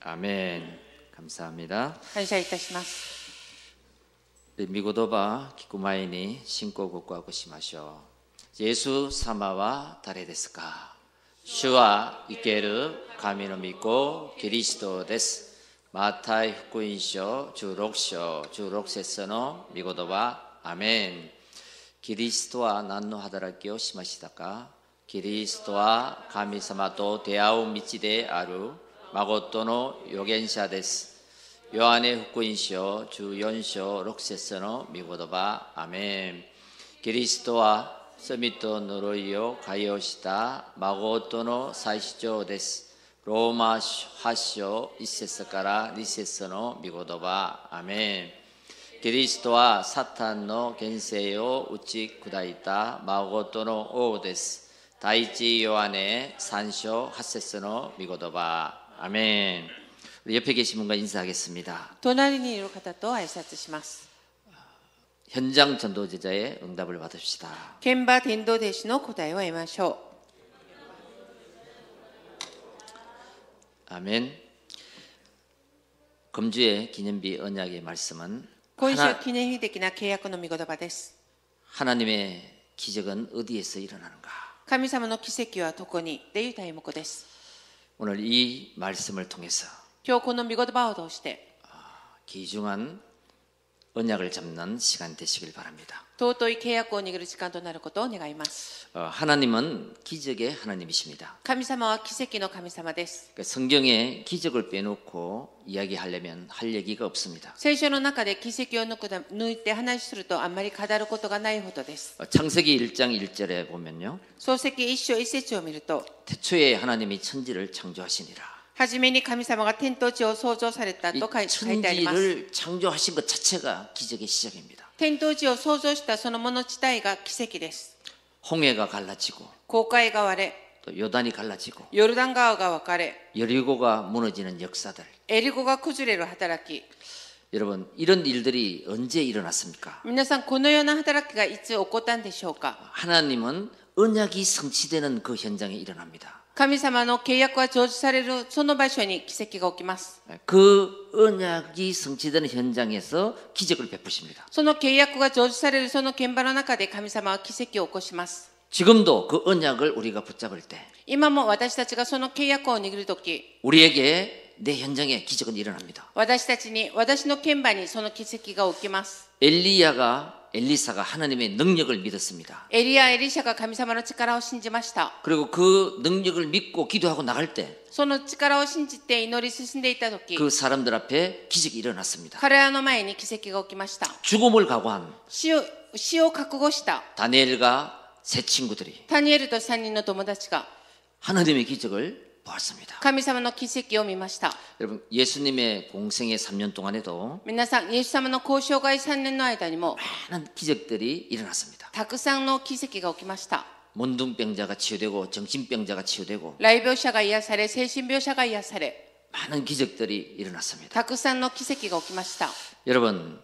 아멘. 감사합니다. 感謝いたします。 미고도바 기쿠마이니 신고 국과고 시마쇼. 예수 사마와 다레 데스까? 주와 이케르 가미노 믿고 그리스도 데스. 마타이 후쿠인쇼 주 록세서노 미고도바 아멘. 그리스도와 난노 하다라기요 시마시다까? 그리스도와 가미사마도 대아우 미치데 아루 마고토노 요겐샤 데스. 요한의 후쿠인쇼 주 연쇼 록세서노 미고도바 아멘. 그리스도와 서미토 노로이요 가요시다 마고토노 사이시조 데스. 로마 하쇼 이세서까라 니세서노 미고도바 아멘. 그리스도와 사탄노 겐세요 우치 구다이다 마고토노 오 데스. 다이치 요한의 산쇼 하세서노 미고도바 아멘. 옆에 계신 분과 인사하겠습니다. 隣にいる方と挨拶します。 현장 전도제자의 응답을 받읍시다. 現場伝道弟子の答えを得ましょ 아멘. 금주의 기념비 언약의 말씀은 う。今週記念日的な契約の御言葉です。 하나님의 기적은 어디에서 일어나는가? 神様の奇跡はどこにという題目です。 오늘 이 말씀을 통해서 今日この御言葉を通して 귀중한 언약을 잡는 시간 되시길 바랍니다. 尊い契約を握る時間となることを願います。 하나님은 기적의 하나님이십니다. 神様は奇跡の神様です。 그러니까 성경에 기적을 빼놓고 이야기하려면 할 얘기가 없습니다. 聖書の中で奇跡を抜いて話するとあんまり語ることがないほどです。 창세기 1장 1절에 보면요. 創世記一章一節を見ると 태초에 하나님이 천지를 창조하시니라. はじめに神様が天と地を創造されたと書いてあります。 천지를 창조하신 것 자체가 기적의 시작입니다. 天と地を創造したそのもの自体が奇跡です。 홍해가 갈라지고 紅海が割れ、 또 요단이 갈라지고 ヨルダン川が分かれ、 여리고가 무너지는 역사들. エリゴが崩れる働き。 여러분 이런 일들이 언제 일어났습니까? 皆さんこのような働きがいつ起こったんでしょうか。 하나님은 언약이 성취되는 그 현장에 일어납니다. 神様の契約は成就されるその場所に奇跡が起きます。 그 언약이 성취되는 현장에서 기적을 베푸십니다. その契約が成就されるその現場の中で神様は奇跡を起こします。 지금도 그 언약을 우리가 붙잡을 때 今も私たちがその契約を握るとき、 우리에게 내 현장에 기적은 일어납니다. 私たちに、私の現場にその奇跡が起きます。 엘리사가 하나님의 능력을 믿었습니다. エリア、エリシャが神様の力を信じました。 그리고 그 능력을 믿고 기도하고 나갈 때 그 その力を信じて祈り進んでいたとき、 사람들 앞에 기적이 일어났습니다. 彼らの前に奇跡が起きました。 죽음을 각오한 死を覚悟した 다니엘과 세 친구들이 タニエルと3人の友達が 하나님의 기적을 보았습니다. 神様の奇跡を見ました。 여러분 예수님의 공생의 3년 동안에도 皆さん、イエス様の交渉外3年の間にも 많은 기적들이 일어났습니다. たくさんの奇跡が起きました。 문둥병자가 치유되고 정신병자가 치유되고 来病者が癒され、精神病者が癒され、 많은 기적들이 일어났습니다. たくさんの奇跡が起きました。 여러분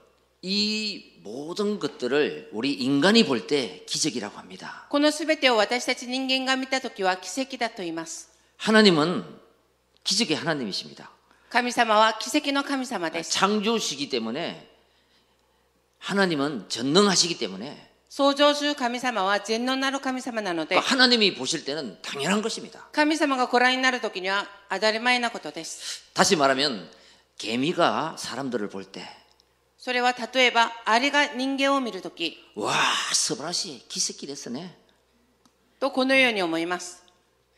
이 모든 것들을 우리 인간이 볼 때 기적이라고 합니다. このすべてを私たち人間が見たときは奇跡だと言います。 하나님은 기적의 하나님이십니다. 神様は奇跡の神様です。 창조시기 때문에 하나님은 전능하시기 때문에 創造主神様は全能なる神様なので、 하나님이 보실 때는 당연한 것입니다. 神様がご覧になるときには当たり前なことです。 다시 말하면 개미가 사람들을 볼 때 それは例えばアリが人間を見るとき 와, 스바라시 기색기 됐으네. とこのように思います。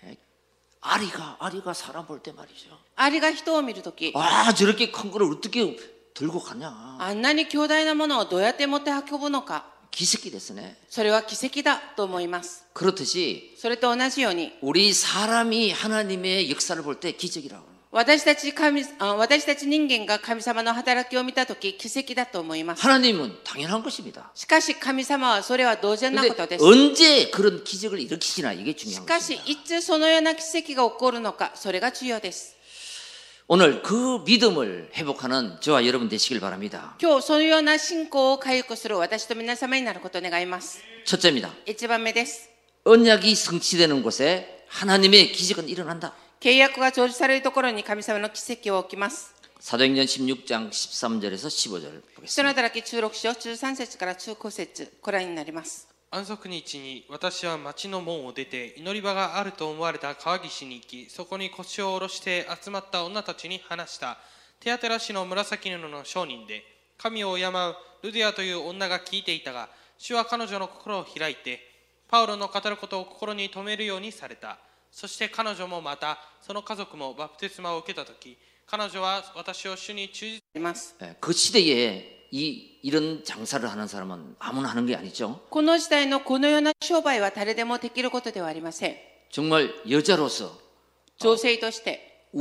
아리가 사람 볼 때 말이죠. アリが人を見るとき、 와, 저렇게 큰 거를 어떻게 들고 가냐. あんなに強大なものをどうやって持って運ぶのか、 기색기 됐으네. それは奇跡だと思います。 그렇듯이 それと同じように 우리 사람이 하나님의 역사를 볼 때 기적이라고. 私たち人間が神様の働きを見たとき奇跡だと思います。 하나님은 당연한 것입니다. しかし神様はそれは同然なことです。 언제 그런 기적을 일으키시나 이게 し 중요한 かし 것입니다. いつそのような奇跡が起こるのか、それが重要です。 오늘 그 믿음을 회복하는 저와 여러분 되시길 바랍니다. 今日そのような信仰を回復する私と皆様になることを願います。 첫째입니다. 1番目です。 언약이 성취되는 곳에 하나님의 기적은 일어난다. 契約が成就されるところに神様の奇跡は起きます。 사도행전 16장 13절에서 15절 人の 보겠습니다. 働き16章13節から15節ご覧になります。 安息日に私は町の門を出て祈り場があると思われた川岸に行き、そこに腰を下ろして集まった女たちに話した。テアテラ氏の紫布の商人で神を敬うルディアという女が聞いていたが、主は彼女の心を開いてパウロの語ることを心に留めるようにされた。そして彼女もまたその家族もバプテスマを受けたとき、彼女は私を主に忠実 그 시대에 이런 장사를 하는 사람은 아무나 하는 게 아니죠. この時代のこのような商売は誰でもできることではありません。 정말 여자로서 女性として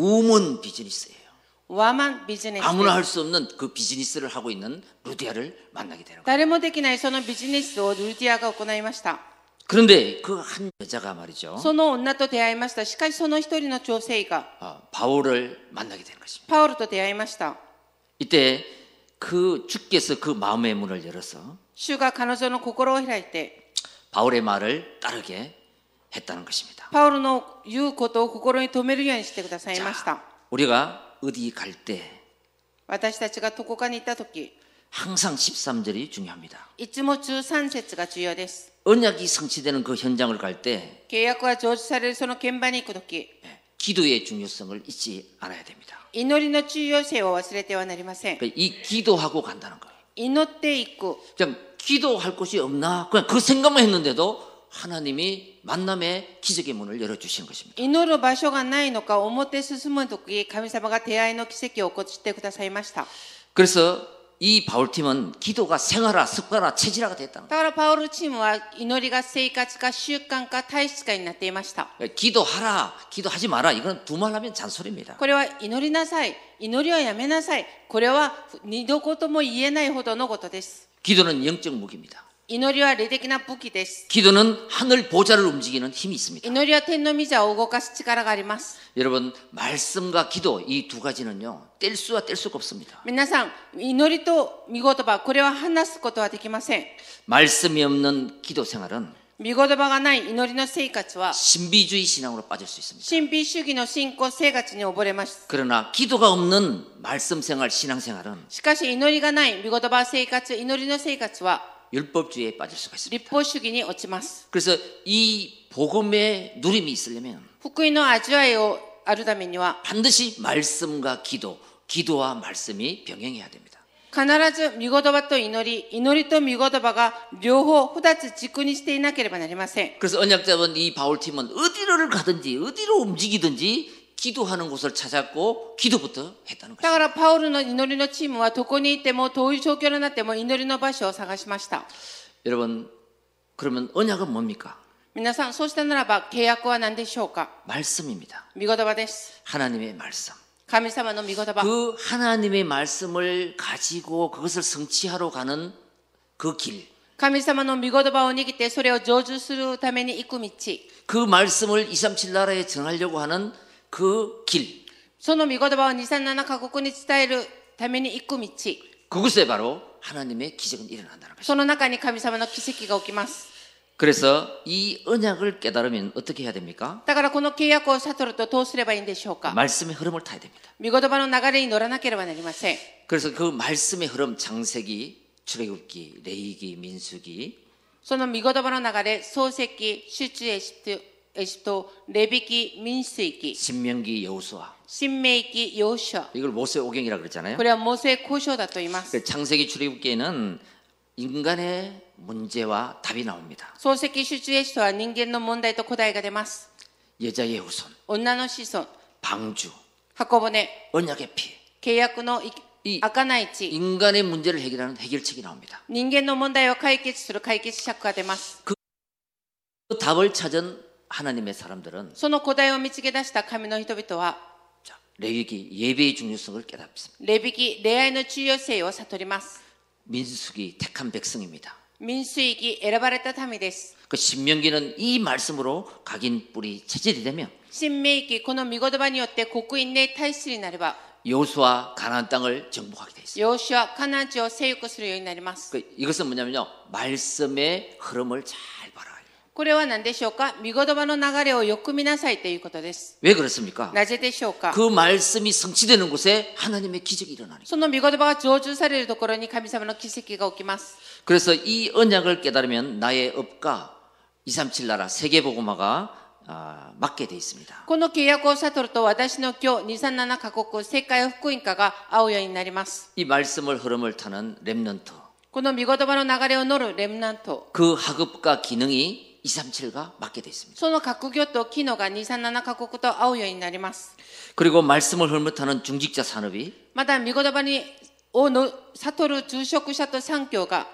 우먼 비즈니스예요. ワーマンビジネス 아무나 で 할 수 없는 그 비즈니스를 하고 있는 루디아를 만나게 되는 거예요. 誰もできないそのビジネスをルディアが行いました。 그런데 그 한 여자가 말이죠. その女と出会いました。しかしその一人の女性が 바울을 만나게 되는 것입니다. パウロと出会いました。 이때 그 주께서 그 마음의 문을 열어서 主が彼女の心を開いて 바울의 말을 따르게 했다는 것입니다. パウロの言うことを心に留めるようにしてくださいました。 우리가 어디 갈 때 私たちがどこかに行ったとき、 항상 13절이 중요합니다. いつも13節が重要です。 언약이 성취되는 그 현장을 갈 때 契約が成就されるその現場に行くとき、 기도의 중요성을 잊지 않아야 됩니다. 祈りの重要性を忘れてはなりません。 이 기도하고 간다는 거예요. 祈っていく。 그냥 기도할 곳이 없나? 그냥 그 생각만 했는데도 하나님이 만남의 기적의 문을 열어주시는 것입니다. 祈る場所がないのか、表進むとき、神様が出会いの奇跡を起こしてくださいました。 그래서 이 바울팀은 기도가 생활화, 습관화, 체질화가 됐다는 だからパウロチームは祈りが生活か習慣か体質化になっていました。 거예요. 기도하라, 기도하지 마라. 이건 두말하면 잔소리입니다. これは祈りなさい、祈りはやめなさい。これは二度とも言えないほどのことです。 기도는 영적 무기입니다. 祈りは霊的な武器です。 기도는 하늘 보좌를 움직이는 힘이 있습니다. 祈りは天の御座を動かす力があります。 여러분, 말씀과 기도 이 두 가지는요, 뗄 수가 뗄 수가 없습니다. 皆さん、祈りと御言葉、これは話すことはできません。 말씀이 없는 기도 생활은 御言葉がない祈りの生活は 신비주의 신앙으로 빠질 수 있습니다. 神秘主義の信仰生活に溺れます。 그러나 기도가 없는 말씀 생활, 신앙 생활은 しかし祈りがない御言葉生活、祈りの生活は 율법주의에 빠질 수가 있습니다. 立法主義に落ちます。 그래서 이 복음의 누림이 있으려면 福音の味わいをあるためには 반드시 말씀과 기도, 기도와 말씀이 병행해야 됩니다. 必ず御言葉と祈り、祈りと御言葉が両方二つ軸にしていなければなりません。 그래서 언약잡은 이 바울팀은 어디를 가든지 어디로 움직이든지 기도하는 곳을 찾았고 기도부터 했다는 だ 것입니다. からパウルの祈りのチームはどこにいてもどういう状況になっても祈りの場所を探しました。 여러분, 그러면 언약은 뭡니까? 皆さん、そうしたならば契約は何でしょうか。 말씀입니다. 御言葉です。 하나님의 말씀. 神様の御言葉。 그 하나님의 말씀을 가지고 그것을 성취하러 가는 그 길. 神様の御言葉を握ってそれを成就するために行く道。 그 말씀을 237 나라에 전하려고 하는 그 길. その御言葉を237カ国に伝えるために行く道。 그곳에 바로 하나님의 기적은 일어난다는 것입니다. その中に神様の奇跡が起きます。 그래서 이 언약을 깨달으면 어떻게 해야 됩니까? だからこの契約を悟るとどうすればいいんでしょうか。 말씀의 흐름을 타야 됩니다. 御言葉の流れに乗らなければなりません。 그래서 그 말씀의 흐름 창세기, 출애굽기, 레위기, 민수기 その御言葉の流れ、創世記、出エジプト、レビ記、民数記、 신명기, 여호수아 新明記、ヨシュア。 이걸 모세 오경이라 그랬잖아요. これはモーセ交渉だと言います。 창세기, 출애굽기에는 인간의 문제와 답이 나옵니다. 創世記、出エジプトは人間の問題と答えが出ます。 여자의 후손, 女の子孫、 방주, 箱舟、 언약의 피. 契約の贖い地、 인간의 문제를 해결하는 해결책이 나옵니다. 人間の問題を解決する解決策が出ます。 그 답을 찾은 하나님의 사람들은 その答えを見つけ出した神の人々は 자, 레위기 예배의 중요성을 깨닫습니다. レビ記、礼拝の重要性を悟ります。 민수기 택한 백성입니다. 民数記、選ばれた民です。 그 신명기는 이 말씀으로 각인 뿌리 체질이 되면 新明記、この御言葉によって刻印で体質になれば 여호수아 가나안 땅을 정복하게 돼 있어요. ヨシュア、カナン地を征服するようになります。 이것은 뭐냐면요, 말씀의 흐름을 잘 봐라. これは何でしょうか。御言葉の流れをよく見なさいということです。 왜 그렇습니까? なぜでしょうか。 그 말씀이 성취되는 곳에 하나님의 기적이 일어나니까. その御言葉が成就されるところに神様の奇跡が起きます。 그래서 이 언약을 깨달으면 나의 업과 237 나라 세계복음화가 맞게 돼 있습니다. この契約を悟ると私の今日237カ国世界福音化が合うようになります。 이 말씀을 흐름을 타는 렘넌트, この御言葉の流れを乗るレムナント、 그 학업과 기능이 237가 맞게 돼 있습니다. その閣業と機能が237カ国と合うようになります。 그리고 말씀을 흐름을 타는 중직자 산업이 また御言葉を悟る住職者と産業が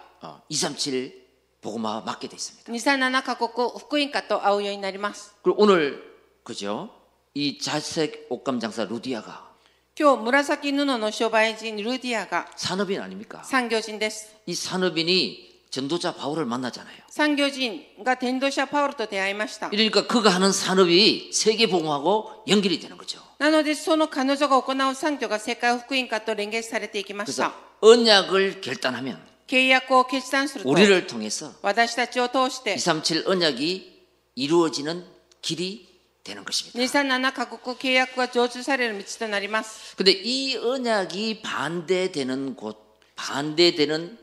237 복음화 맞게 돼 있습니다. 237カ国福音化と合うようになります。 그리고 오늘 그죠? 이 자색 옷감 장사 루디아가 今日紫布の商売人ルディアが 산업인 아닙니까? 産業人です。 이 산업인이 전도자 바울을 만나잖아요. 産業人が伝道者パウロと出会いました。 이러니까 그가 하는 산업이 세계 복음하고 연결이 되는 거죠. なのでその彼女が行う産業が世界福音化と連結されていきまし 그래서 た。 언약을 결단하면 契約を決断すると 우리를 통해서 私たちを通して 237 언약이 이루어지는 길이 되는 것입니다. 237カ国契約が成就される道となります。 근데 이 언약이 반대되는 곳, 반대되는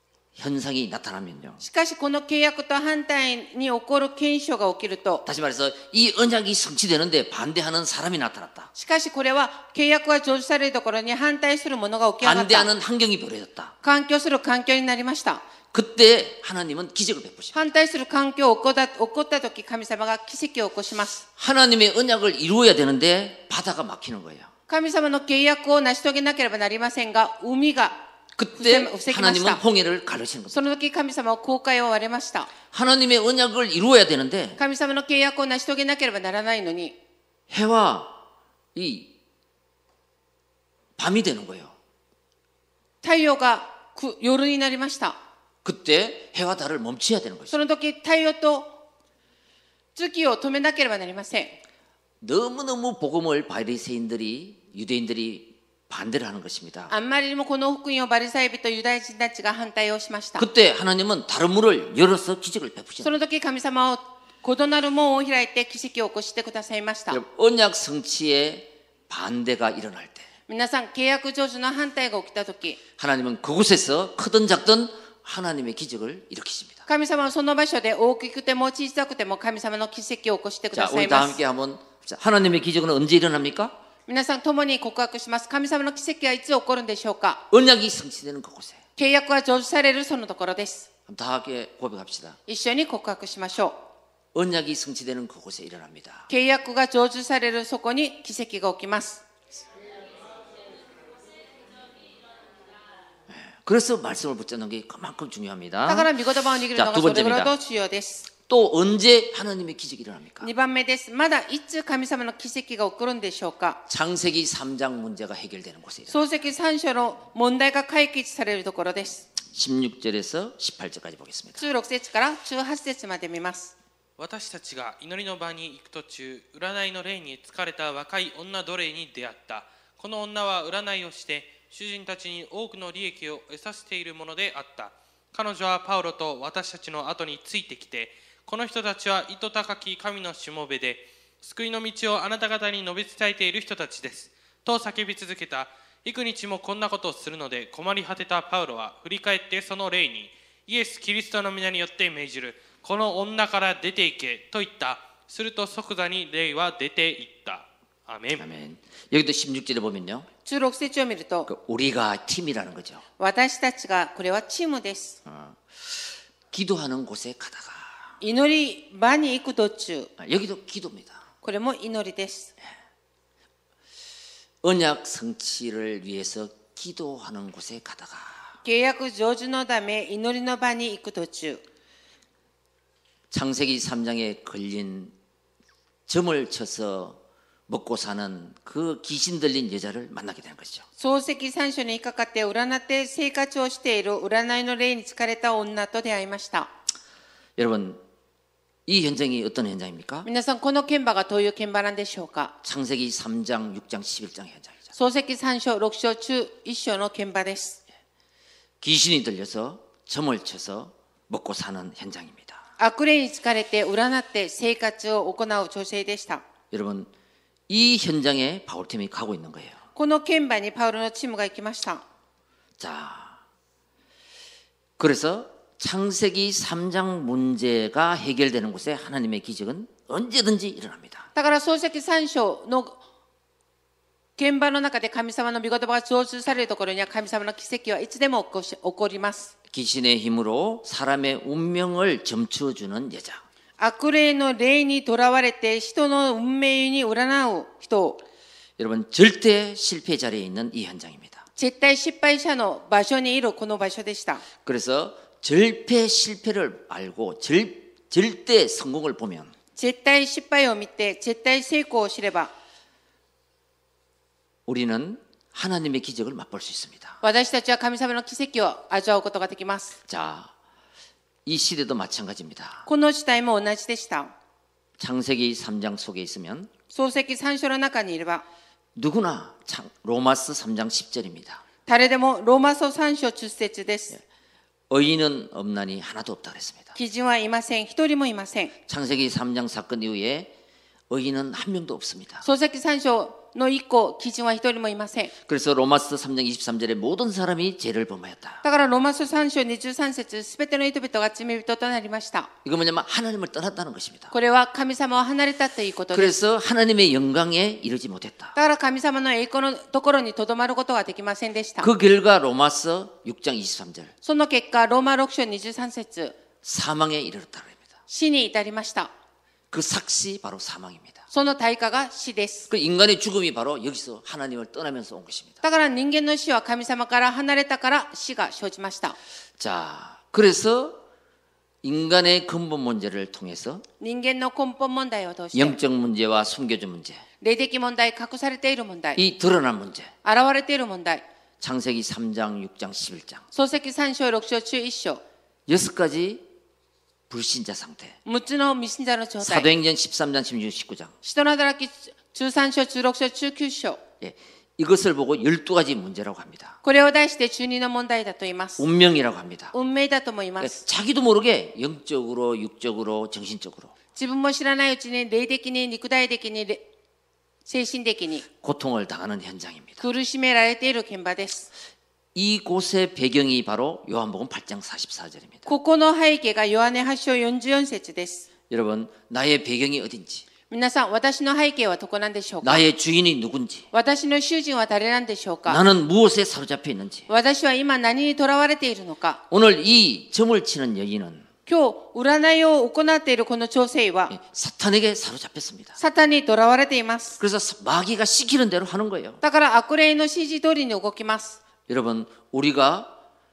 현상이 나타나면요. しかしこの契約と反対に起こる現象が起きると、 다시 말해서 이 언약이 성취되는데 반대하는 사람이 나타났다. しかしこれは契約が成就されるところに反対するものが起き上がった。 반대하는 환경이 벌어졌다. 環境する環境になりました。 그때 하나님은 기적을 베푸십니다. 反対する環境が起こった時、神様が奇跡を起こします。 하나님의 언약을 이루어야 되는데 바다가 막히는 거예요. 神様の契約を成し遂げなければなりませんが、海が 그때 防ぎまし 하나님은 た。 홍해를 가르치는 겁니다. その時神様は航海を割れました。 하나님의 언약을 이루어야 되는데 神様の契約を成し遂げなければならないのに、 해와 이 밤이 되는 거예요. 太陽が夜になりました。 그때 해와 달을 멈춰야 되는 거죠. その時太陽と月を止めなければなりません。 너무너무 복음을 바리새인들이 유대인들이 반대를 하는 것입니다. あんまりにもこの福音をバリサイ人ユダヤ人たちが反対をしました。 그때 하나님은 다른 문을 열어서 기적을 そ 베푸셨습니다. の時神様は異なる門を開いて奇跡を起こしてくださいました。 언약 성취에 반대가 일어날 때 皆さん、契約成就の反対が起きた時、 하나님은 그곳에서 크든 작든 하나님의 기적을 일으키십니다. 神様はその場所で大きくても小さくても神様の奇跡を起こしてく 자, ださ 우리 い 다 ます。 함께 한번 자, 하나님의 기적은 언제 일어납니까? 皆さん共に告白します。神様の奇跡はいつ起こるんでしょうか。 언약이 성취되는 그곳에 契約が成就されるそのところです。 다 함께 고백합시다. 一緒に告白しましょ 언약이 성취되는 그곳에 일어납니다. う。契約が成就されるそこに奇跡が起きます。 그래서 말씀을 붙잡는 게 그만큼 だか 중요합니다. ら御言葉を握るのがそれぐらいと重要です。 또 언제 하나님의 기적이 일어납니까? 2番目です。まだいつ神様の奇跡が起こるんでしょうか。 창세기 3장 문제가 해결되는 곳에 일어납니다. 創世記3章の問題が解決されるところです。 16절에서 18절까지 보겠습니다. 16節から18節まで見ます。 私たちが祈りの場に行く途中、占いの霊に疲れた若い女奴隷に出会った。この女は占いをして主人たちに多くの利益を得させているものであった。彼女はパウロと私たちの後についてきて、この人たちは糸高き神のしもべで、救いの道をあなた方に述べ伝えている人たちです。と叫び続けた。幾日もこんなことをするので困り果てたパウロは振り返ってその霊に、イエス・キリストの皆によって命じる。この女から出て行けと言った。すると即座に霊は出て行った。アメン。 아멘. 여기도 16절에 보면요. 16節を見ると、 그 우리가 팀이라는 거죠. 私たちが、これはチームです。 기도하는 곳에 가다가 祈り場に行く途中、 여기도 기도입니다. これも祈りです。 언약 성취를 위해서 기도하는 곳에 가다가 契約成就のため祈りの場に行く途中、 창세기 3장에 걸린 점을 쳐서 먹고 사는 그 귀신 들린 여자를 만나게 되는 것이죠. 創世記3章にかかって占って生活をしている占いの霊に疲れた女と出会いました。 여러분, 이 현장이 어떤 현장입니까? 皆さん、この現場がどういう現場なんでしょうか。 창세기 3장, 6장, 11장 현장이죠. 創世記3章、6章中1章の現場です。 귀신이 들려서 점을 쳐서 먹고 사는 현장입니다. 悪霊に疲れて占って生活を行う女性でした。 여러분, 이 현장에 바울팀이 가고 있는 거예요. この現場にパウロのチームが行きました。 자, 그래서 창세기 3장 문제가 해결되는 곳에 하나님의 기적은 언제든지 일어납니다. だから創世記3章の現場の中で神様の御言葉が成就されるところには神様の奇跡はいつでも起こります。 귀신의 힘으로 사람의 운명을 점쳐주는 여자. 悪霊の霊にとらわれて人の運命に占う人。 여러분, 절대 실패 자리에 있는 이 현장입니다. 絶対失敗者の場所にいるこの場所でした。 그래서 절대 실패를 알고 절대 성공을 보면 絶対失敗を見て絶対成功を知れば 우리는 하나님의 기적을 맛볼 수 있습니다. 私たちは神様の奇跡を味わうことができます。 자, 이 시대도 마찬가지입니다. この時代も同じでした。 창세기 3장 속에 있으면 創世記3章の中にいれば 누구나 로마스 3장 10절입니다. 誰でもローマ書3章10節です。 의인은 없나니 하나도 없다 그랬습니다. 基準はいません。一人もいません。 창세기 3장 사건 이후에 의인은 한 명도 없습니다. 創世記3章の以降、基準は一人もいません。 그래서 로마스 3장 23절에 모든 사람이 죄를 범하였다. だからローマ書3章23節、すべての人々が罪人となりました。 이거 뭐냐면 하나님을 떠났다는 것입니다. これは神様を離れたということです。 그래서 하나님의 영광에 이르지 못했다. だから神様の栄光のところにとどまることができませんでした。 그 결과 로마서 6장 23절 その結果、ローマ6章23節、 사망에 이르렀다 그럽니다. 死に至りました。 그 삭시 바로 사망입니다. その対価が死です。 그 인간의 죽음이 바로 여기서 하나님을 떠나면서 온 것입니다. だから人間の死は神様から離れたから死が生じました。 자, 그래서 인간의 근본 문제를 통해서 人間の根本問題を通して、 영적 문제와 숨겨진 문제, 霊的問題、隠されている問題、 이 드러난 문제, 現れている問題、 창세기 3장, 6장, 11장 創世記3章、6章、中1章、 6가지 불신자 상태, 6つの未信者の状態、 사도행전 13장, 16, 19장 使徒の働き中3章、中6章、中9章、 예, 이것을 보고 12가지 문제라고 합니다. これを題して中2の問題だと言います。 운명이라고 합니다. 運命だとも言いま 그러니까 す。 자기도 모르게 영적으로, 육적으로, 정신적으로 自分も知らないうちに霊的に、肉体的に、精神的に 고통을 당하는 현장입니다. 苦しめられている現場です。 이곳의 배경이 바로 요한복음 8장 44절입니다. ここの背景がヨハネ8章44節です。 여러분, 나의 배경이 어딘지, 皆さん、私の背景はどこなんでしょうか。 나의 주인이 누군지, 私の主人は誰なんでしょうか。 나는 무엇에 사로잡혀 있는지, 私は今何にとらわれているのか。 오늘 이 점을 치는 여인은 今日占いを行っているこの調整は 사탄에게 사로잡혔습니다. サタンにとらわれています。 그래서 마귀가 시키는 대로 하는 거예요. だから悪霊の指示通りに動きます。 여러분, 우리가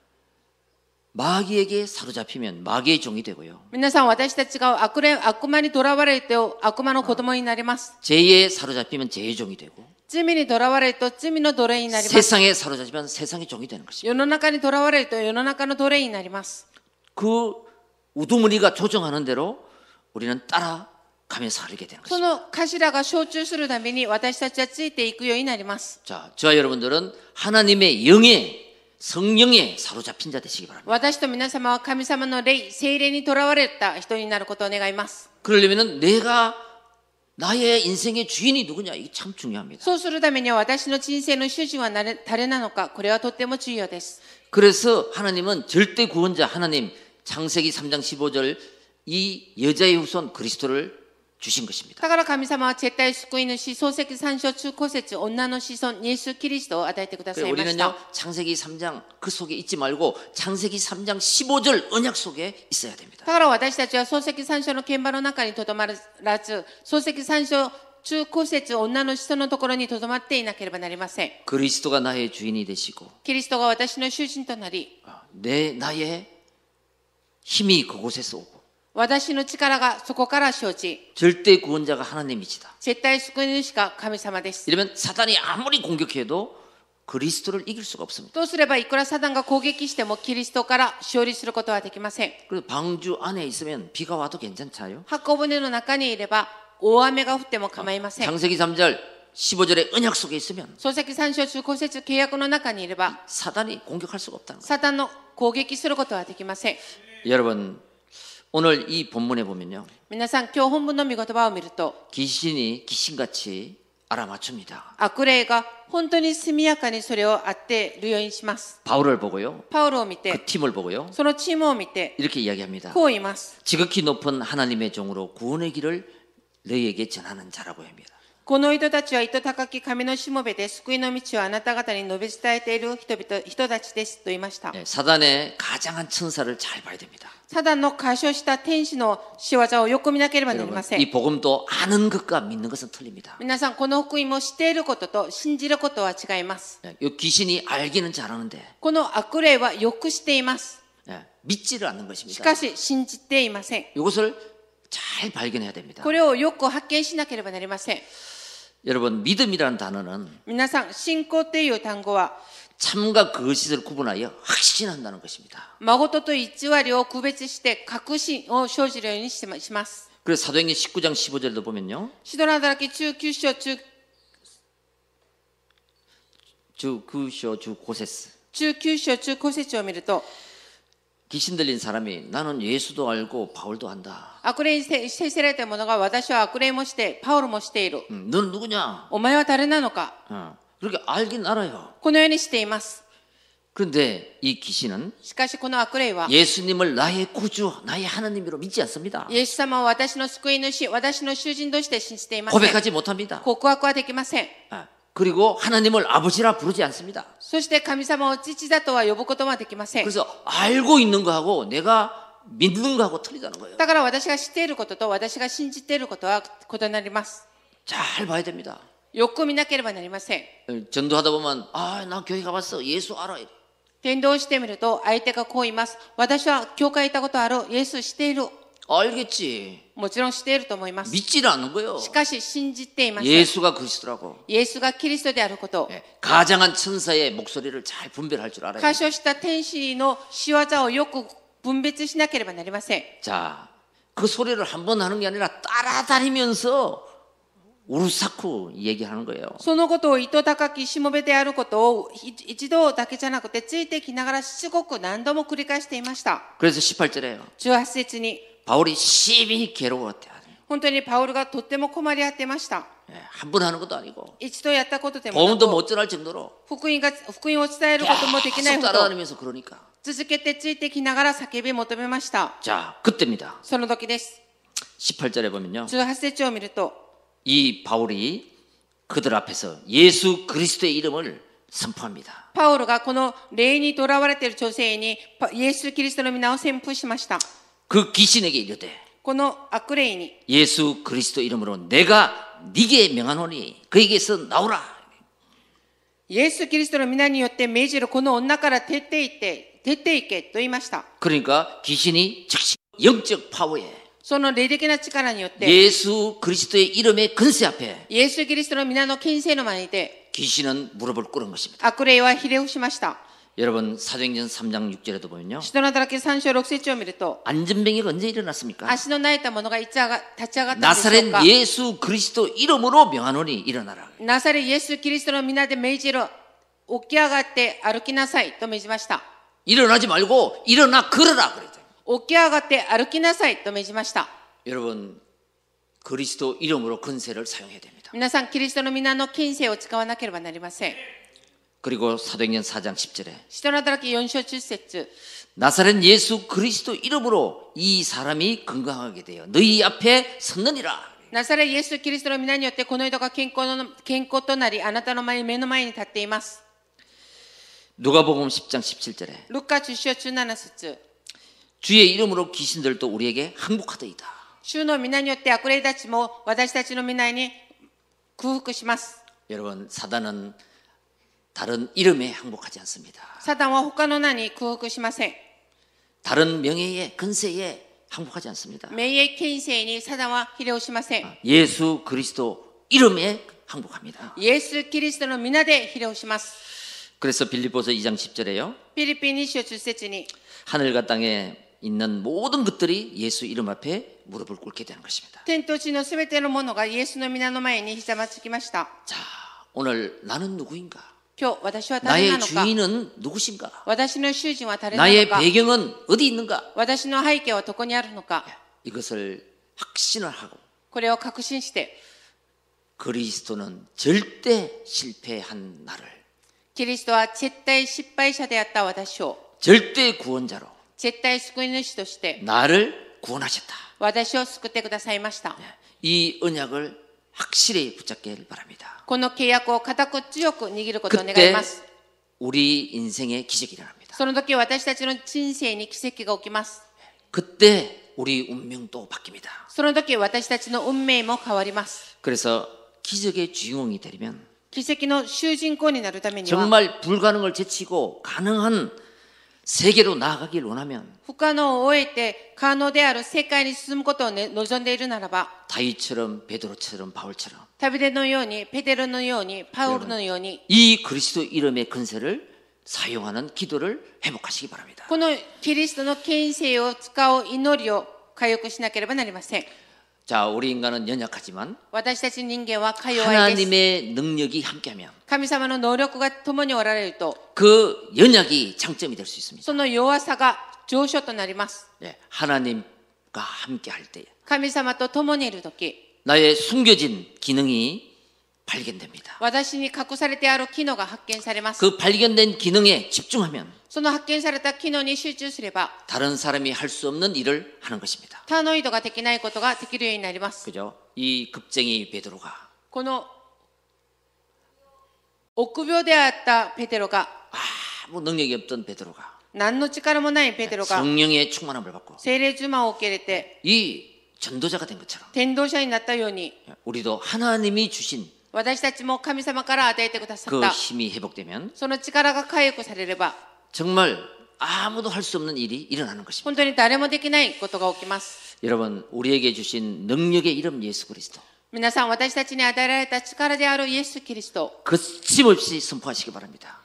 마귀에게 사로잡히면 마귀의 종이 되고요. 皆さん、私たちが悪魔にとらわれると悪魔の子供になります。 죄에 사로잡히면 죄의 종이 되고, 罪にとらわれると罪の奴隷になります。 세상에 사로잡히면 세상의 종이 되는 것입니다. 世の中にとらわれると世の中の奴隷になります。 그 우두머리가 조정하는 대로 우리는 따라가면서 살게 되는 そ 것입니다. の頭が承知するために私たちはついていくようになります。 자, 저와 여러분들은 하나님의 영에, 성령에 사로잡힌 자 되시기 바랍니다. 私と皆様は神様の霊、聖霊にとらわれた人になることを願います。 그러려면 내가 나의 인생의 주인이 누구냐, 이게 참 중요합니다. そうするためには私の人生の主人は誰なのか、これはとっても重要です。 그래서 하나님은 절대 구원자 하나님, 창세기 3장 15절 이 여자의 후손 그리스도를 주신 것입니다. だから神様は絶対救い主、創世記3章中古節、女の子孫、イエス・キリストを与えてくださいました。 우리는요, 창세기 3장 그 속에 있지 말고 창세기 3장 15절 언약 속에 있어야 됩니다. だから私たちは創世記3章の現場の中にとどまらず、創世記3章中古節、女の子孫のところにとどまっていなければなりません。 그리스도가 나의 주인이 되시고 キリストが私の主人となり、 나의 힘이 그곳에서 오고 私の力がそこから生じ、 절대 구원자가 하나님이시다. 絶対救い主が神様です。 이러면 사단이 아무리 공격해도 그리스도를 이길 수가 없습니다. どうすればいくらサタンが攻撃してもキリストから勝利することはできません。 그래서 방주 안에 있으면 비가 와도 괜찮아요. 箱舟の中にいれば大雨が降っても構いません。 창세기 3절 15절의 언약 속에 있으면 創世記3章中古節契約の中にいれば 사단이 공격할 수가 없다는 거예요. サタンの攻撃することはできません。 여러분, 오늘 이 본문에 보면요. 皆さん、今日本文の御言葉を見ると、 귀신이 귀신같이 알아맞춥니다. 悪霊が本当に速やかにそれを当てるようにします。 바울을 보고요. パウロを見 그 て、 팀을 보고요. そのチームを見て、 이렇게 이야기합니다. こう言います。 지극히 높은 하나님의 종으로 구원의 길을 너희에게 전하는 자라고 합니다. この人たちは糸高き神のしもべで救いの道をあなた方に述べ伝えている人たちですと言いました。 네, 사단의 가장한 천사를 잘 봐야 됩니다. サダンの過小した天使の仕業をよく見なければなり 여러분, ません。 이 복음도 아는 것과 믿는 것은 틀립니다. 皆さん、この福音も知っていることと信じることは違います。 네, 이 귀신이 알기는 잘하는데 この悪霊はよく知っています。 네, 믿지를 않는 し 것입니다. かし信じていません。 이것을 잘 발견해야 됩니다. これをよく発見しなければなりません。 여러분, 믿음이라는 단어는 皆さん、信仰という単語は 참과 거짓을 구분하여 확신한다는 것입니다. 誠と偽りを区別して確信を生じるようにします。 그래서 사도행전 19장 15절도 보면요. 使徒の働き中9章 주 고세스 中9章中9節を見ると、 귀신 들린 사람이 나는 예수도 알고 바울도 안다. 悪霊に制せられた者が私は悪霊もしてパウロもしている。 넌 누구냐? お前は誰なのか。 그렇게 알긴 알아요. このようにしています。 그런데 이 귀신은 しかしこの悪霊は 예수님을 나의 구주, 나의 하나님으로 믿지 않습니다. イエス様を私の救い主、私の囚人として信じていません。 고백하지 못합니다. 告白はできません。 그리고 하나님을 아버지라 부르지 않습니다. そして神様を父だとは呼ぶことはできません。 그래서 알고 있는 거하고 내가 믿는 거하고 틀리다는 거예요. だから私が知っていることと私が信じていることは異なります。 잘 봐야 됩니다. よく見なければなりません。 전도하다 보면 나 교회 가봤어. 예수 알아. 伝道してみると相手がこう言います。私は教会行ったことある。イエス知っている。 알겠지. もちろん知っていると思います。 믿지를 않는 거예요. しかし信じていません。 예수가 그리스도라고. イエスがキリストであること。 가장한 천사의 목소리를 잘 분별할 줄 알아야 過 돼요. 小した天使の仕業をよく分別しなければなりません。 자, 그 소리를 한 번 하는 게 아니라 따라다니면서 우르사쿠 얘기하는 거예요. そのことを糸高きしもべであることを一度だけじゃなくてついてきながらしつこく何度も繰り返していました。 그래서 18절에요. 18節に 바울이 심히 괴로웠대. 本当にパウルがとっても困り合ってました。 한 번 하는 것도 아니고 一度やったことでもな 보험도 く 못 전할 정도로 福音を伝えることもできない 계속 ほど 따라다니면서 그러니까. 続けてついてきながら叫び求めました。 자, 그때입니다. その時です。 18절에 보면요. 18節を見ると 이 바울이 그들 앞에서 예수 그리스도의 이름을 선포합니다. パウロがこの霊にとらわれている女性にイエス・キリストの皆を宣布しました。 그 귀신에게 이르되 この悪霊に 예수 그리스도 이름으로 내가 네게 명하노니 그에게서 나오라. イエス・キリストの皆によって命じるこの女から出ていけと言いました。 그러니까 귀신이 즉시 영적 파워에 その霊的な力によって 예수 그리스도의 이름의 근세 앞에 イエス・キリストの皆の権勢の前にて 귀신은 무릎을 꿇은 것입니다. 悪霊はひれ伏しました。 여러분 사도행전 3장 6절에도 보면요. 使徒の働き3章6節を見ると 안전병이가 언제 일어났습니까? 足の泣いた者が立ち上がったんでしょうか。 나사렛 예수 그리스도 이름으로 명하노니 일어나라. ナサレイエス・キリストの皆で命じる起き上がって歩きなさいと命じました。 일어나지 말고 일어나 걸어라 그랬죠. 起き上がって歩きなさいと命じました。 여러분 그리스도 이름으로 근세를 사용해야 됩니다. 皆さんキリストの皆の権勢を使わなければなりません。 그리고 사도행전 4장 10절에 使徒の働き4章10節 나사렛 예수 그리스도 이름으로 이 사람이 건강하게 되어 너희 앞에 섰느니라. ナサレイエス・キリストの皆によってこの人が健康となりあなたの目の前に立っています。 누가복음 10장 17절에 ルカ10章17節 주의 이름으로 귀신들도 우리에게 항복하더이다. 主の皆によって悪霊たちも私たちの皆に空腹します。 여러분 사단은 다른 이름에 항복하지 않습니다. サタンは他の名に空腹しません。 다른 명예에 근세에 항복하지 않습니다. 名誉権勢にサタンはひれをしません。 예수 그리스도 이름에 항복합니다. イエス・キリストの皆でひれをします。 그래서 빌립보서 2장 10절에요. フィリピン2章10節に 하늘과 땅에 있는 모든 것들이 예수 이름 앞에 무릎을 꿇게 되는 것입니다. 天と地のすべてのものがイエスの皆の前にひざまつきました。 자, 오늘 나는 누구인가? 今日私は誰な 나의 のか、 주인은 누구신가? 私の主人は誰なの 나의 か、 배경은 어디 있는가? 私の背景はどこにあるのか、 이것을 확신을 하고 これを確信して、 그리스도는 절대 실패한 나를 キリストは絶対失敗者であった私を 절대 구원자로 絶対救い主として 나를 구원하셨다. 私を救ってくださいました。 이 언약을 확실히 붙잡기를 바랍니다. この契約を固く強く握ることを願い 그때 ます。 우리 인생에 기적이 일어납니다. その時私たちの人生に奇跡が起きます。 그때 우리 운명도 바뀝니다. その時私たちの運命も変わります。 그래서 기적의 주인공이 되려면 奇跡の主人公になるためには、 정말 불가능을 제치고 가능한 세계로 나아가길 원하면 不可能を終えて可能である世界に進むことを、望んでいるならば、 다윗처럼 베드로처럼 바울처럼 ダビデのように、ペテロのように、パウルのように、 이 그리스도 이름의 근세를 사용하는 기도를 회복하시기 바랍니다. このキリストの権勢を使う祈りを回復しなければなりません。 자, 우리 인간은 연약하지만 私たち人間はか弱いです。 하나님의 능력이 함께하면 神様の能力が共におられると、 그 연약이 장점이 될 수 있습니다. その弱さが上昇となります。 예, 하나님과 함께할 때 神様と共にいるとき、 나의 숨겨진 기능이 발견됩니다. 私に隠されてある機能が発見されます。 그 발견된 기능에 집중하면 その発見された機能に集中すれば、 다른 사람이 할 수 없는 일을 하는 것입니다. 他の人ができないことができるようになります。 그죠? 이 급쟁이 베드로가 この臆病であったペテロが、 아무 능력이 없던 베드로가 何の力もないペテロが 성령의 충만함을 받고 聖霊充満を受け入れて 이 전도자가 된 것처럼 伝道者になったように、 우리도 하나님이 주신 私たちも神様から与えてくださっ 그 た 힘이 회복되면 その力が回復されれば、 정말 아무도 할 수 없는 일이 일어나는 것입니다. 本当に誰もできないことが起きます。 여러분, 우리에게 주신 능력의 이름 예수 그리스도 皆さん、私たちに与えられた力であるイエス・キリストを 거침없이 선포하시기 바랍니다.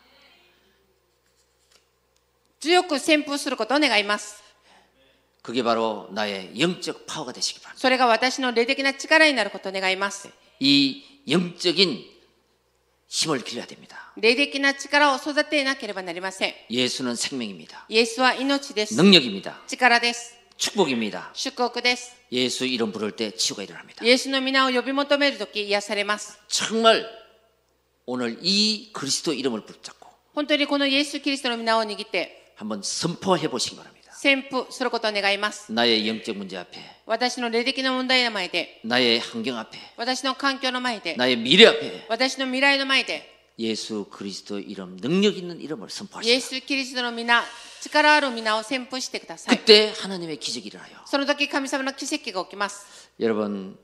強く宣布することを願います。 그게 바로 나의 영적 파워가 되시기 바랍니다. それが私の霊的な力になることを願います。 이 영적인 힘을 길러야 됩니다. 霊的な力を育てなければなりません。 예수는 생명입니다. イエスは命です。 능력입니다. 力です。 축복입니다. 祝福です。 예수 이름 부를 때 치유가 일어납니다. イエスの皆を呼び求めるとき癒されます。 정말 오늘 이 그리스도 이름을 붙잡고 本当にこのイエス・キリストの皆を握って 한번 선포해 보시기 바랍니다. 宣布することを願います。 나의 영적 문제 앞에, 私の霊的な問題の前で、 나의 환경 앞에, 私の環境の前で、 나의 미래 앞에 私の未来の前で、 예수 그리스도 이름, 능력 있는 이름을 イエ 선포하시고 ス・キリストの皆、力ある皆を宣布してください。 그때 하나님의 기적이 일어나요. その時神様の奇跡が起きます。 여러분,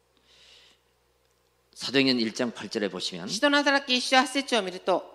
사도행전 1장 8절에 보시면 使徒の働き1章8節を見ると、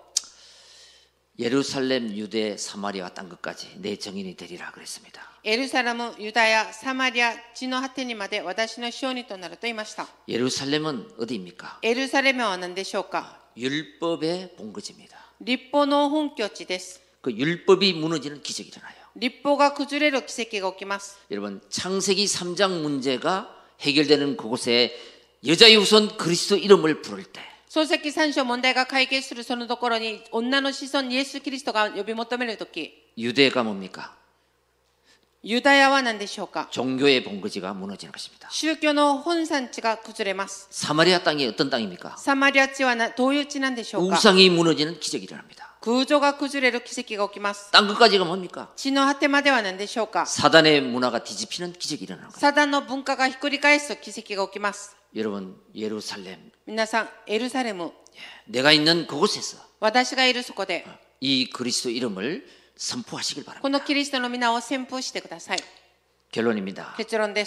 예루살렘, 유대, 사마리아와 땅 끝까지 내 정인이 되리라 그랬습니다. エルサレム、ユダヤ、サマリア、地の果てにまで私の証人となると言いました。 예루살렘은 어디입니까? エルサレムは何でしょうか？ 율법의 본거지입니다. 立法の本拠地です。 그 율법이 무너지는 기적이 일어나요. 立法が崩れる奇跡が起きます。 여러분, 창세기 3장 문제가 해결되는 그곳에 여자의 우선 그리스도 이름을 부를 때 創世記3章問題が解決するそのところに女の子孫イエス・キリストが呼び求めるとき、 유대가 뭡니까? ユダヤは何でしょうか？ 종교의 본거지가 무너지는 것입니다. 宗教の本産地が崩れます。 사마리아 땅이 어떤 땅입니까? サマリア地はどういう地なんでしょうか？ 우상이 무너지는 기적이 일어납니다. 空女が崩れる奇跡が起きます。 땅 끝까지가 뭡니까? 地の果てまでは何でしょうか？ 사단의 문화가 뒤집히는 기적이 일어나는 거예요. サダンの文化がひっくり返す奇跡が起きます。 여러분, 예루살렘, 皆さん、エルサレム、 내가 있는 그곳에서 私がいるそこで 이 그리스도 이름을 선포하시길 こ 바랍니다. のキリストの皆を宣布してください。 결론입니다. 結論です。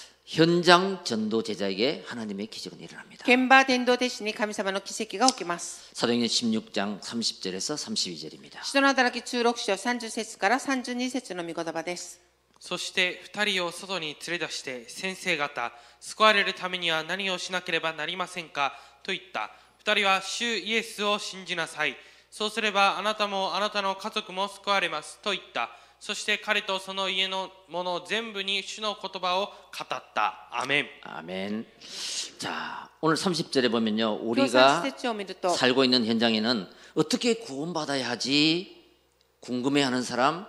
현장 전도 제자에게 하나님의 기적은 일어납니다. 現場伝道弟子に神様の奇跡が起きます。 사도행전 16장 30절에서 32절입니다. 使徒の働き16章30節から32節の御言葉です。 そして2人を外に連れ出して、先生方、救われるためには何をしなければなりませんかと言った。2人は主イエスを信じなさい。そうすればあなたもあなたの家族も救われますと言った。 そして彼とその家の者全部に主の言葉を語った。アメン。 아멘. 자, 오늘 30절에 보면요. 今日 우리가 3節を見ると 살고 있는 현장에는 어떻게 구원받아야 하지 궁금해하는 사람,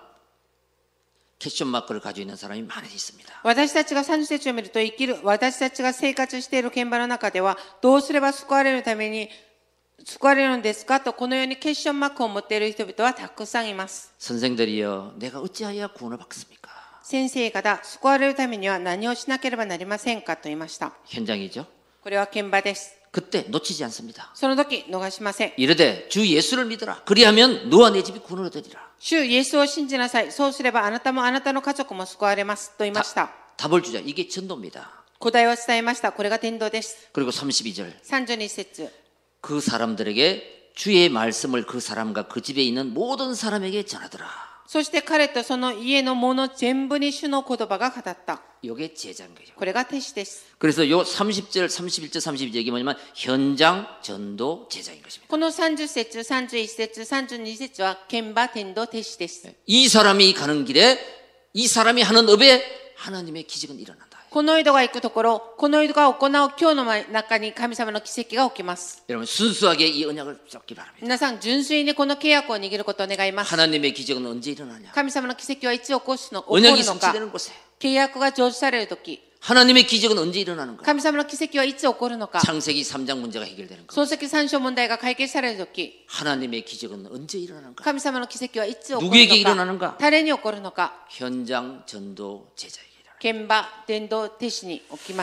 캐션 마크를 가지고 있는 사람이 많이 있습니다. 私たちが30節を見ると私たちが生活している現場の中ではどうすれば救われるために救われるんですかとこのようにクエスチョンマークを持っている人々はたくさんいます。 선생들이여, 내가 어찌하여 구원을 받겠습니까? 先生方、救われるためには何をしなければなりませんかと言いました。 현장이죠. これは現場です。 그때 놓치지 않습니다. その時逃しません。 이르되 주 예수를 믿어라. 그리하면 너와 내 집이 구원을 얻으리라. 主イエスを信じなさい。そうすればあなたもあなたの家族も救われますと言いました。 답을 주자. 이게 전도입니다. 答えを伝えました。これが伝道です。 그리고 32절. 32節 그 사람들에게 주의 말씀을 그 사람과 그 집에 있는 모든 사람에게 전하더라. そして彼とその家の者全部に主の言葉が語った。 이게 제자인 거죠. これが弟子です。 그래서 요 30절, 31절, 32절이 뭐냐면 현장 전도 제자인 것입니다. この30節、31節、32節は現場伝道弟子です。 이 사람이 가는 길에 이 사람이 하는 업에 하나님의 기적은 일어난다. この人が行くところ、この人が行う今日の中に神様の奇跡が起きます。 여러분 순수하게 이 언약을 잡기 바랍니다. 皆さん純粋にこの契約を握ることを願います。 하나님의 기적은 언제 일어나냐? 神様の奇跡はいつ起こるのか、 언약이 성취되는 곳에. 契約が成就されるとき、 하나님의 기적은 언제 일어나는 거야? 神様の奇跡はいつ起こるのか、 창세기 3장 문제가 해결되는 거. 創世記3章問題が解決されるとき、 하나님의 기적은 언제 일어나는 거야? 神様の奇跡はいつ起こる 누구에게 のか、 일어나는가? 誰に起こるのか、 현장 전도 제자에게 일어나. 現場伝道弟子に起きます。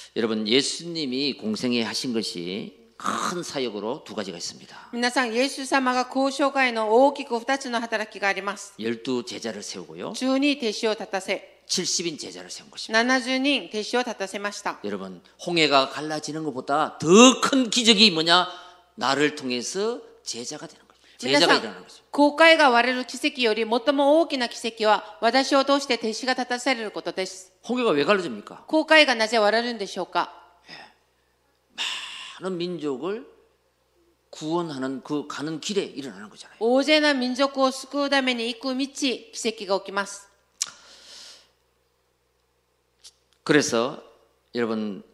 여러분 예수님이 공생에 하신 것이 큰 사역으로 두 가지가 있습니다. 皆さん、イエス様が交渉会の大きく2つの働きがあります。 12 제자를 세우고요. 12弟子を立たせ、 70인 제자를 세운 것입니다. 70人弟子を立たせました。 여러분 홍해가 갈라지는 것보다 더 큰 기적이 뭐냐? 나를 통해서 제자가 되는 거죠. 皆 제자가 さん、 일어나는 거죠. 航海が割れる奇跡より最も大きな奇跡は私を通して弟子が立たされることです。 홍해가 왜 갈라집니까? 航海がなぜ割れるんでしょうか。 많은 민족을 구원하는 그 가는 길에 일어나는 거잖아요. 大勢の民族を救うために行く道、奇跡が起きます。 그래서 여러분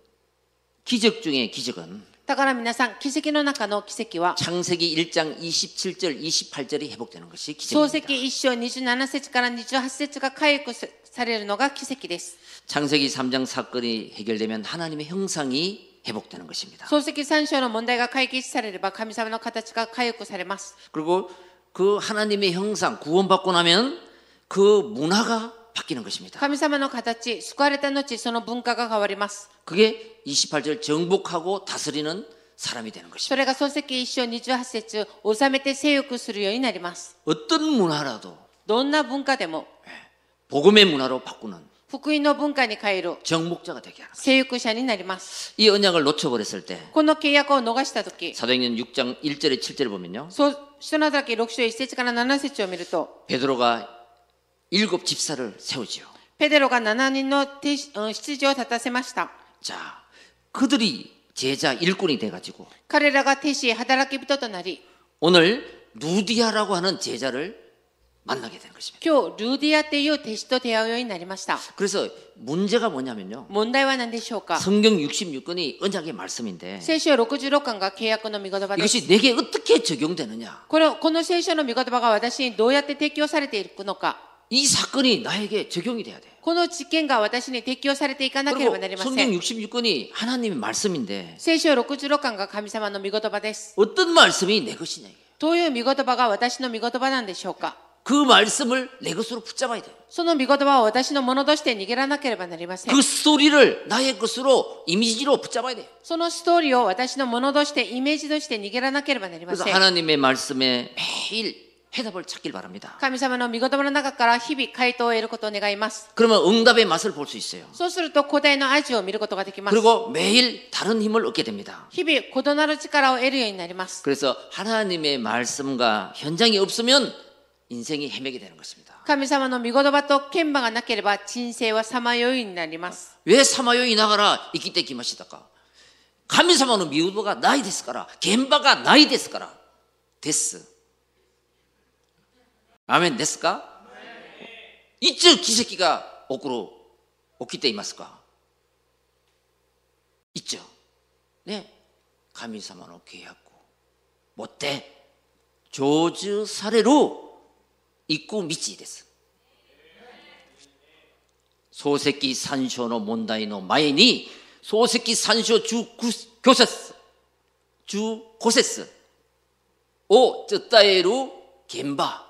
기적 중에 기적은 だから皆さん、奇跡の中の奇跡は 창세기 1장 27절 28절이 회복되는 것이 創 기적입니다. 世記1章27節から28節が回復されるのが奇跡です。 창세기 3장 사건이 해결되면 하나님의 형상이 회복되는 것입니다. 創世記3章の問題が解決されれば神様の形が回復されます。 그리고 그 하나님의 형상 구원받고 나면 그 문화가 바뀌는 것입니다. 神様の形、救われた後、その文化が変わります。 그게 28절 정복하고 다스리는 사람이 되는 そ 것입니다. れが創世記1章28節、治めて征服するようになります。 어떤 문화라도 どんな文化でも、 복음의 문화로 바꾸는 福音の文化に変える 정복자가 되게 하는 거예요. 征服者になります。 이 언약을 놓쳐버렸을 때 この契約を逃したとき、 사도행전 6장 1절에 7절을 보면요. 使徒の働き6章1節から7節を見ると、 베드로가 7 집사를 세우지요. ペテロが7人の執事を立たせました。 자, 그들이 제자 일꾼이 돼가지고 彼らが弟子、働き人となり、 오늘 루디아라고 하는 제자를 만나게 된 것입니다. 今日ルーディアという弟子と出会うようになりました。 그래서 문제가 뭐냐면요. 問題は何でしょうか。 성경 66권이 언약의 말씀인데 聖書66巻が契約の御言葉です。 이것이 내게 어떻게 적용되느냐. この聖書の御言葉が私にどうやって適用されていくのか。 이 사건이 나에게 적용이 돼야 돼요. この事件が私に適用されていかなけれ 그리고 ばなりませ 성경 ん。 66권이 하나님의 말씀인데 聖書66巻が神様の御言葉です。 어떤 말씀이 내 것이냐. どういう御言葉が私の御言葉なんでしょうか。 그 말씀을 내 것으로 붙잡아야 돼요. その御言葉を私のものとして握らなければなりません。 그 스토리를 나의 것으로 이미지로 붙잡아야 돼요. そのストーリーを私のものとしてイメージとして握らなければなりま 그래서 せん。 하나님의 말씀에 매일 해답을 찾길 바랍니다. 神様の御言葉の中から日々回答を得ることを願います。 그러면 응답의 맛을 볼 수 있어요. そうすると答えの味を見ることができます。 그리고 매일 다른 힘을 얻게 됩니다. 日々異なる力を得るようになります。 그래서 하나님의 말씀과 현장이 없으면 인생이 헤매게 되는 것입니다. 神様の御言葉と剣馬がなければ人生はさまよいになります。 왜 사마요이 나가라生きてきましたか? 神様の御言葉がないですから, 겐바가ないですから. です. 아멘ですか? いつ奇跡が起きていますか？いつね、神様の契約を持って成就される行く道です。漱石三章の問題の前に漱石三章15節15節を伝える現場、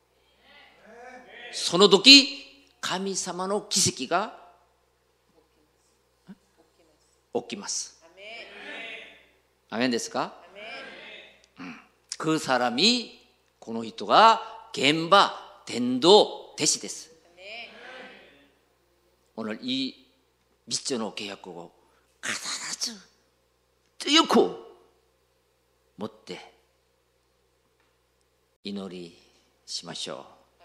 その時神様の奇跡が起きます。アメンですか？그 사람이この人が現場伝道弟子です。오늘 이密の契約を必ず強く持って祈りしましょう。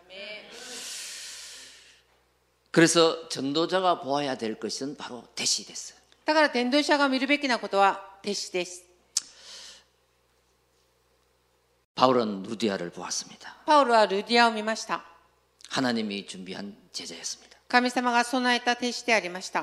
그래서 전도자가 보아야 될 것은 바로 대시です。 だから伝道者が見るべきなことは弟子です。 바울은 루디아를 보았습니다. パウロはルディアを見ました。 하나님이 준비한 제자였습니다. 神様が備えた弟子でありました。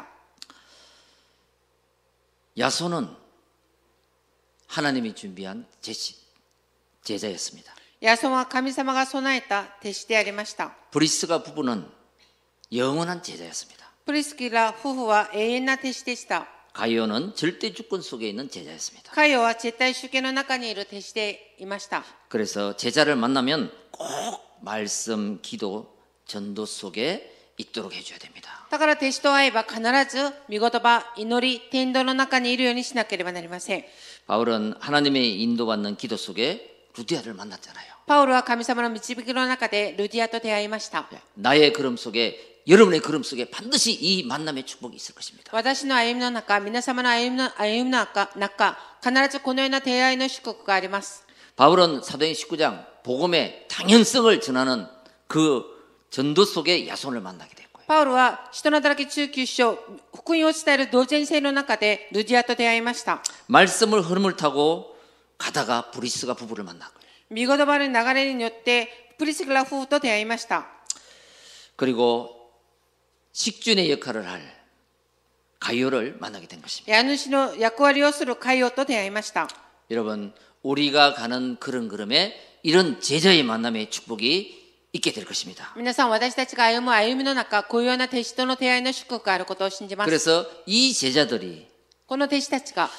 야손은 하나님이 준비한 제자였습니다. ヤソンは神様が備えた弟子でありました。 브리스가 부부는 영원한 제자였습니다. プリスキラ夫婦は永遠な弟子でした。 가이오는 절대 주권 속에 있는 제자였습니다. カイオは絶対主権の中にいる弟子でいました。 그래서 제자를 만나면 꼭 말씀, 기도, 전도 속에 있도록 해줘야 됩니다. だから弟子と会えば必ず御言葉、祈り、天道の中にいるようにしなければなりません。 바울은 하나님의 인도받는 기도 속에 루디아를 만났잖아요. パウロは神様の導きの中でルディアと出会いました。 나의 걸음 속에, 여러분의 걸음 속에 반드시 이 만남의 축복이 있을 것입니다. 私の歩みの中、皆様の歩みの中、必ずこのような出会いの祝福があります。 바울은 사도행 19장 복음의 당연성을 전하는 그 전도 속에 야손을 만나게 됐고요. パウロは使徒の働き19章、福音を伝える同然性の中でルディアと出会いました。 말씀을 흐름을 타고 가다가 브리스가 부부를 만났고요. 御言葉の流れによってプリスキラ夫婦と出会いました。 그리고 식준의 역할을 할 가이오를 만나게 된 것입니다. 家主の役割をするカイオと出会いました。 여러분, 우리가 가는 그런 걸음에 이런 제자의 만남의 축복이 있게 될 것입니다. 皆さん、私たちが歩む歩みの中、こういうような弟子との出会いの祝福があることを信じます。 그래서 이 제자들이 この弟子たちが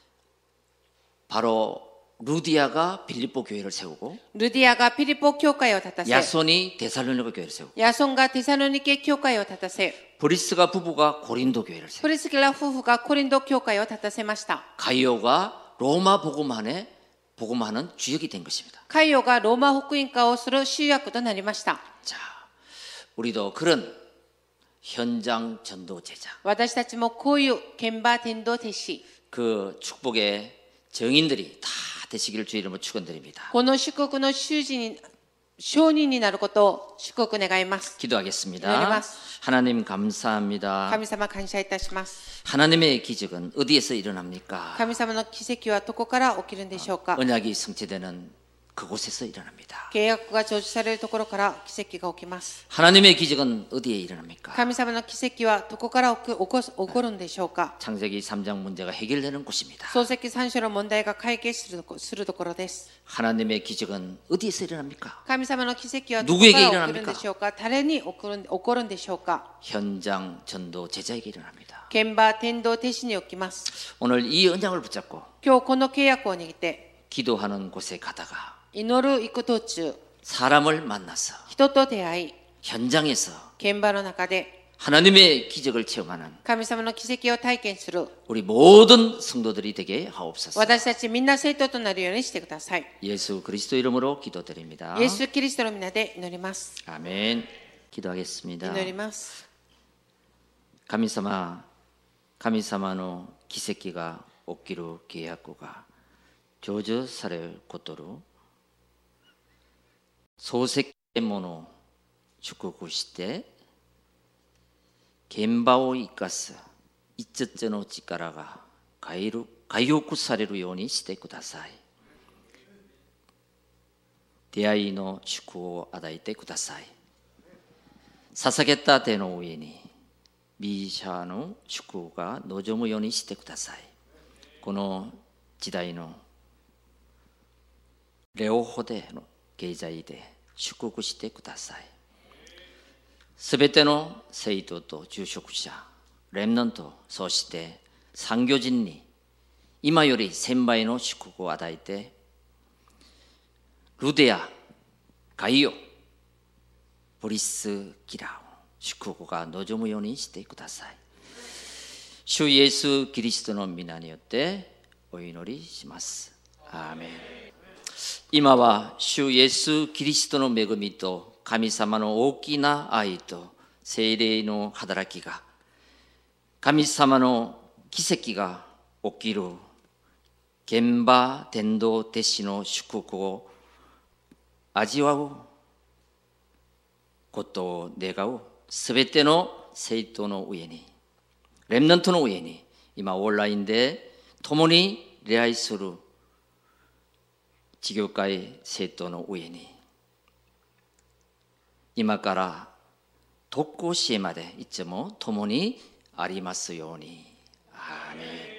바로 루디아가 빌립보 교회를 세우고 ルディアがピリポ教会を立たせ、 야손이 데살로니가 교회를 세우고 ヤソンがテサロニケ教会を立たせ、 브리스가 부부가 고린도 교회를 세우고 プリスキラ夫婦がコリント教会を立たせました。 가이오가 로마 복음하는 주역이 된 것입니다. カイオがローマ福音化をする集約となりました。 자, 우리도 그런 현장 전도 제자, 私たちもこういう現場伝道弟子、 그 축복의 정인들이 다 되시기를 주의 이름으로 축원드립니다. この祝福の証人になることを祝福願います。 기도하겠습니다. 기도하겠습니다. 하나님 감사합니다. 神様感謝いたします。 하나님의 기적은 어디에서 일어납니까? 神様の奇跡はどこから起きるんでしょうか。 언약이 성취되는 그곳에서 일어납니다. 契約が成就されるところから奇跡が起きます。 하나님의 기적은 어디에 일어납니까? 神様の奇跡はどこから起こるんでしょうか。 창세기 3장 문제가 해결되는 곳입니다. 漱石三章の問題が解決するところです。 하나님의 기적은 어디에서 일어납니까? 神様の奇跡はどこから 누구에게 起き 일어납니까? るんでしょうか。誰に起こるんでしょうか。 현장 전도 제자에게 일어납니다. 現場伝道弟子に起きます。 오늘 이 언약을 붙잡고 今日この契約を握って 기도하는 곳에 가다가 祈る行く途中、 사람을 만나서 人と出会い、 현장에서 現場の中で 하나님의 기적을 체험하는 神様の奇跡を体験する 우리 모든 성도들이 되게 하옵소서. 私たちみんな生徒となるようにしてください。 예수 그리스도 이름으로 기도드립니다. イエス・キリストの皆で祈ります。 아멘. 기도하겠습니다. 祈ります。 神様の奇跡が起きる契約が成就されることを漱石ものを祝福して現場を生かす5つの力が回復されるようにしてください。出会いの祝福を与えてください。 捧げた手の上にビーシャの祝福が望むようにしてください。この時代の両方での経済で祝福してください。すべての生徒と住職者、レムナント、そして産業人に今より1000倍の祝福を与えて、ルデア、ガイオ、プリスキラー、祝福が望むようにしてください。主イエス・キリストの皆によってお祈りします。アーメン。今は主イエス・キリストの恵みと神様の大きな愛と聖霊の働きが、神様の奇跡が起きる現場伝道弟子の祝福を味わうことを願うすべての生徒の上に、レムナントの上に、今オンラインで共に礼拝する地教会生徒の上に、今から特攻支援までいつも共にありますように。アーメン。